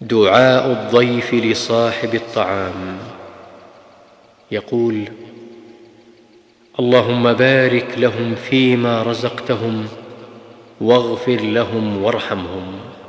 دعاء الضيف لصاحب الطعام. يقول: اللهم بارك لهم فيما رزقتهم واغفر لهم وارحمهم.